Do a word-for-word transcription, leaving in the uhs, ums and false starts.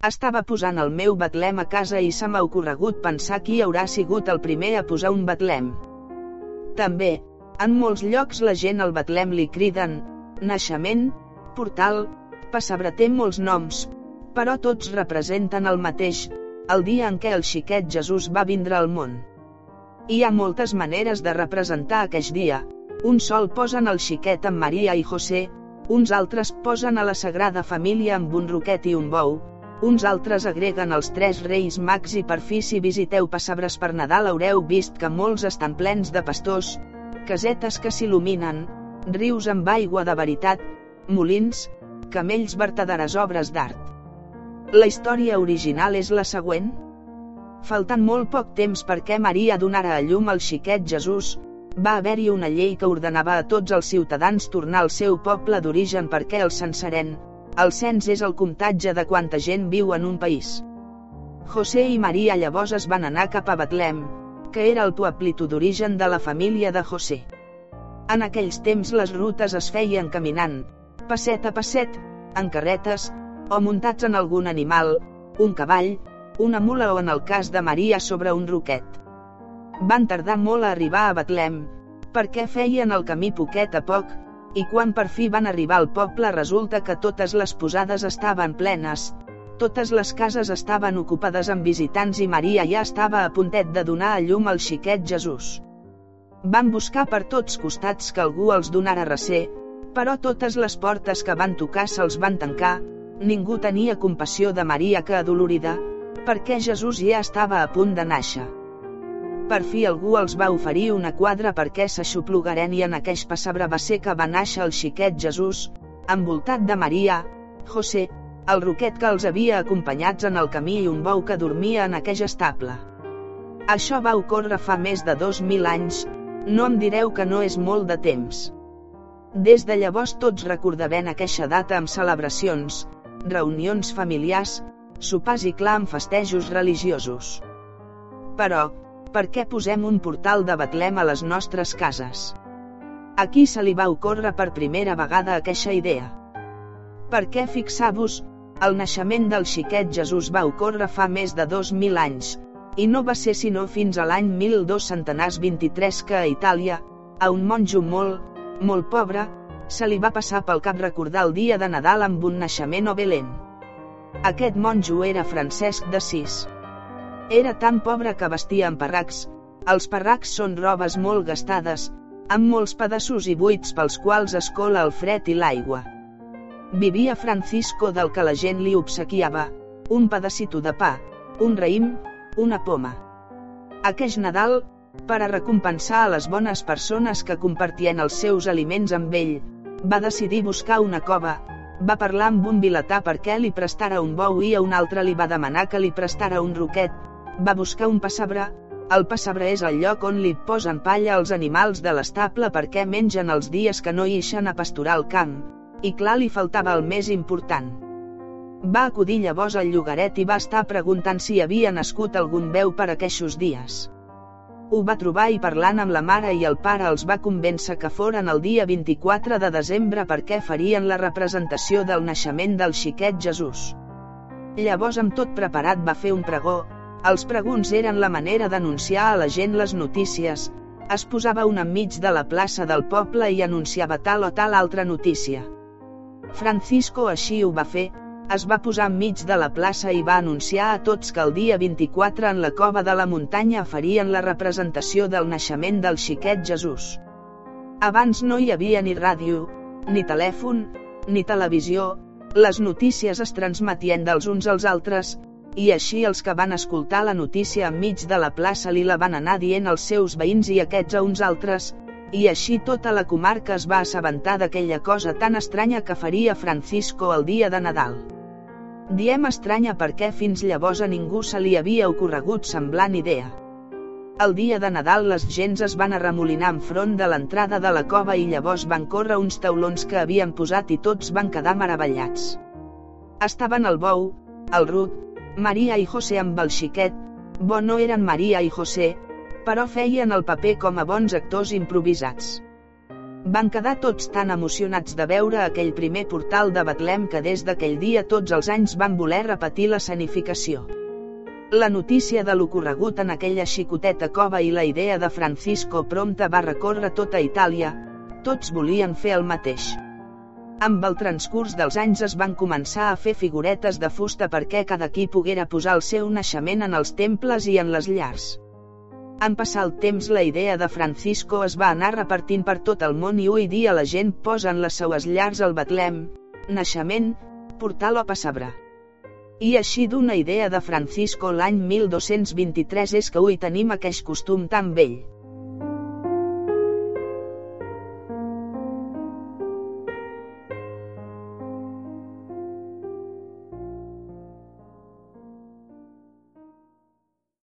Estava posant el meu betlem a casa i se m'ha ocorregut pensar qui haurà sigut el primer a posar un betlem. També, en molts llocs la gent al betlem li criden naixement, portal, pessebre, té molts noms, però tots representen el mateix, el dia en què el xiquet Jesús va vindre al món. Hi ha moltes maneres de representar aqueix dia. Un sol posen el xiquet amb Maria i José, uns altres posen a la Sagrada Família amb un roquet i un bou, uns altres agreguen els tres reis mags i per fi si visiteu pessebres per Nadal haureu vist que molts estan plens de pastors, casetes que s'il·luminen, rius amb aigua de veritat, molins, camells, vertaderes obres d'art. La història original és la següent. Faltant molt poc temps perquè Maria donara a llum al xiquet Jesús, va haver-hi una llei que ordenava a tots els ciutadans tornar al seu poble d'origen perquè el censaren. El cens és el comptatge de quanta gent viu en un país. José i Maria llavors es van anar cap a Betlem, que era el poblito d'origen de la família de José. En aquells temps les rutes es feien caminant, passet a passet, en carretes, o muntats en algun animal, un cavall, una mula o en el cas de Maria sobre un roquet. Van tardar molt a arribar a Betlem, perquè feien el camí poquet a poc, i quan per fi van arribar al poble resulta que totes les posades estaven plenes, totes les cases estaven ocupades amb visitants i Maria ja estava a puntet de donar a llum al xiquet Jesús. Van buscar per tots costats que algú els donara recer, però totes les portes que van tocar se'ls van tancar, ningú tenia compassió de Maria que adolorida, perquè Jesús ja estava a punt de nàixer. Per fi algú els va oferir una quadra perquè s'aixoplugaren i en aqueix pessebre va ser que va nàixer el xiquet Jesús, envoltat de Maria, José, el roquet que els havia acompanyats en el camí i un bou que dormia en aqueix estable. Això va ocórrer fa més de dos mil anys, no em direu que no és molt de temps. Des de llavors tots recordaven aqueixa data amb celebracions, reunions familiars, sopars i clar amb festejos religiosos. Però, per què posem un portal de Betlem a les nostres cases? A qui se li va ocórrer per primera vegada aqueixa idea? Perquè fixar-vos, el naixement del xiquet Jesús va ocórrer fa més de dos mil anys, i no va ser sinó fins a l'any mil dos-cents vint-i-tres que a Itàlia, a un monjo molt, molt pobre, se li va passar pel cap recordar el dia de Nadal amb un naixement a Belén. Aquest monjo era Francesc d'Assís. Era tan pobre que vestia amb parracs. Els parracs són robes molt gastades, amb molts pedaços i buits pels quals es cola el fred i l'aigua. Vivia Francisco del que la gent li obsequiava, un pedacito de pa, un raïm, una poma. Aqueix Nadal, per a recompensar a les bones persones que compartien els seus aliments amb ell, va decidir buscar una cova, va parlar amb un vilatà perquè li prestara un bou i a un altre li va demanar que li prestara un roquet, va buscar un pessebre, el pessebre és el lloc on li posen palla als animals de l'estable perquè mengen els dies que no ixen a pasturar al camp, i clar li faltava el més important. Va acudir llavors al llogaret i va estar preguntant si havia nascut algun beu per aqueixos dies. Ho va trobar i parlant amb la mare i el pare els va convèncer que foren el dia vint-i-quatre de desembre perquè farien la representació del naixement del xiquet Jesús. Llavors amb tot preparat va fer un pregó, els pregons eren la manera d'anunciar a la gent les notícies, es posava un enmig de la plaça del poble i anunciava tal o tal altra notícia. Francisco així ho va fer, es va posar enmig de la plaça i va anunciar a tots que el dia vint-i-quatre en la cova de la muntanya farien la representació del naixement del xiquet Jesús. Abans no hi havia ni ràdio, ni telèfon, ni televisió, les notícies es transmetien dels uns als altres, i així els que van escoltar la notícia enmig de la plaça li la van anar dient als seus veïns i aquests a uns altres, i així tota la comarca es va assabentar d'aquella cosa tan estranya que faria Francisco el dia de Nadal. Diem estranya perquè fins llavors a ningú se li havia ocorregut semblant idea. El dia de Nadal les gents es van arremolinar enfront de l'entrada de la cova i llavors van córrer uns taulons que havien posat i tots van quedar meravellats. Estaven el bou, el ruc, Maria i José amb el xiquet, bo no eren Maria i José, però feien el paper com a bons actors improvisats. Van quedar tots tan emocionats de veure aquell primer portal de Betlem que des d'aquell dia tots els anys van voler repetir l'escenificació. La notícia de l'ocorregut en aquella xicoteta cova i la idea de Francisco prompte va recórrer tota Itàlia. Tots volien fer el mateix. Amb el transcurs dels anys es van començar a fer figuretes de fusta perquè cada qui poguera posar el seu naixement en els temples i en les llars. En passar el temps la idea de Francisco es va anar repartint per tot el món i avui dia la gent posa en les seues llars el Betlem, naixement, portal o pessebre. I així d'una idea de Francisco l'any mil dos-cents vint-i-tres és que avui tenim aqueix costum tan vell.